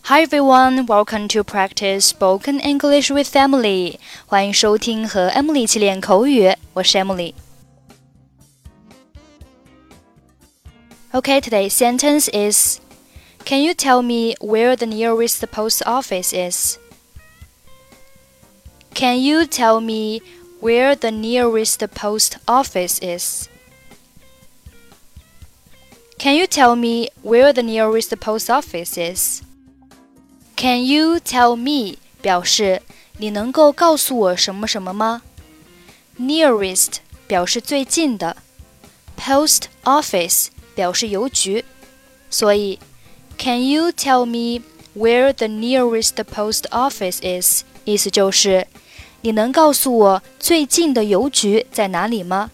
Hi everyone, welcome to practice spoken English with Emily. 欢迎收听和 Emily 一起练口语，我是 Emily. Okay, today's sentence is, Can you tell me where the nearest post office is? Can you tell me where the nearest post office is? Can you tell me where the nearest post office is?Can you tell me 表示你能够告诉我什么什么吗？ Nearest 表示最近的， Post office 表示邮局，所以 Can you tell me where the nearest post office is? 意思就是你能告诉我最近的邮局在哪里吗？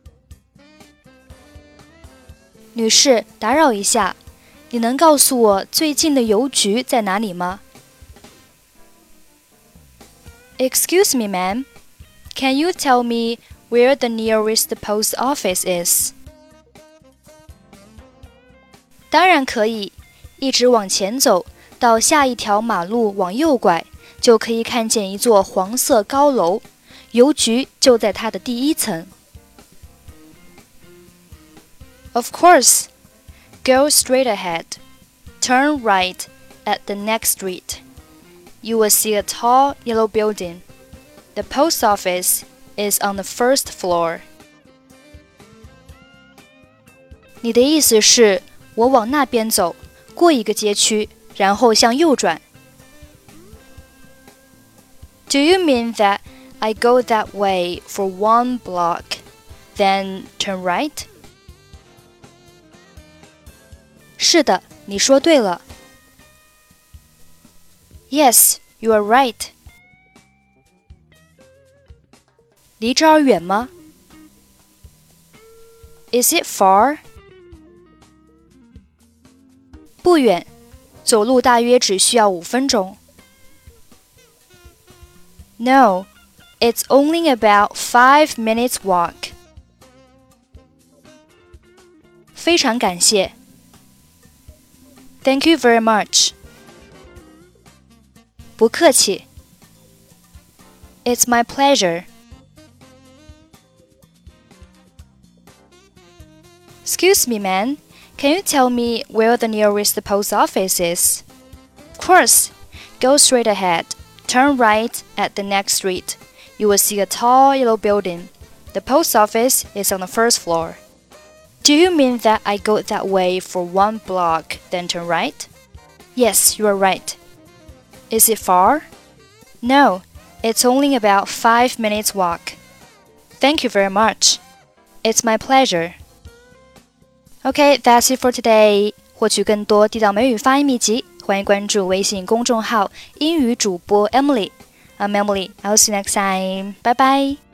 女士，打扰一下，你能告诉我最近的邮局在哪里吗？ Excuse me, ma'am. Can you tell me where the nearest post office is? 当然可以，一直往前走，到下一条马路往右拐，就可以看见一座黄色高楼，邮局就在它的第一层。Of course.Go straight ahead. Turn right at the next street. You will see a tall yellow building. The post office is on the first floor. 你的意思是，我往那边走，过一个街区，然后向右转。Do you mean that I go that way for one block, then turn right?是的，你说对了。Yes, you are right. 离这儿远吗？ Is it far? 不远，走路大约只需要5分钟。No, it's only about 5 minutes walk. 非常感谢。Thank you very much. 不客气。It's my pleasure. Excuse me, man. Can you tell me where the nearest post office is? Of course. Go straight ahead. Turn right at the next street. You will see a tall yellow building. The post office is on the first floor.Do you mean that I go that way for one block, then turn right? Yes, you are right. Is it far? No, it's only about 5 minutes walk. Thank you very much. It's my pleasure. Okay, that's it for today. 获取更多地道美语发音秘籍，欢迎关注微信公众号英语主播 Emily. I'm Emily. I'll see you next time. Bye bye.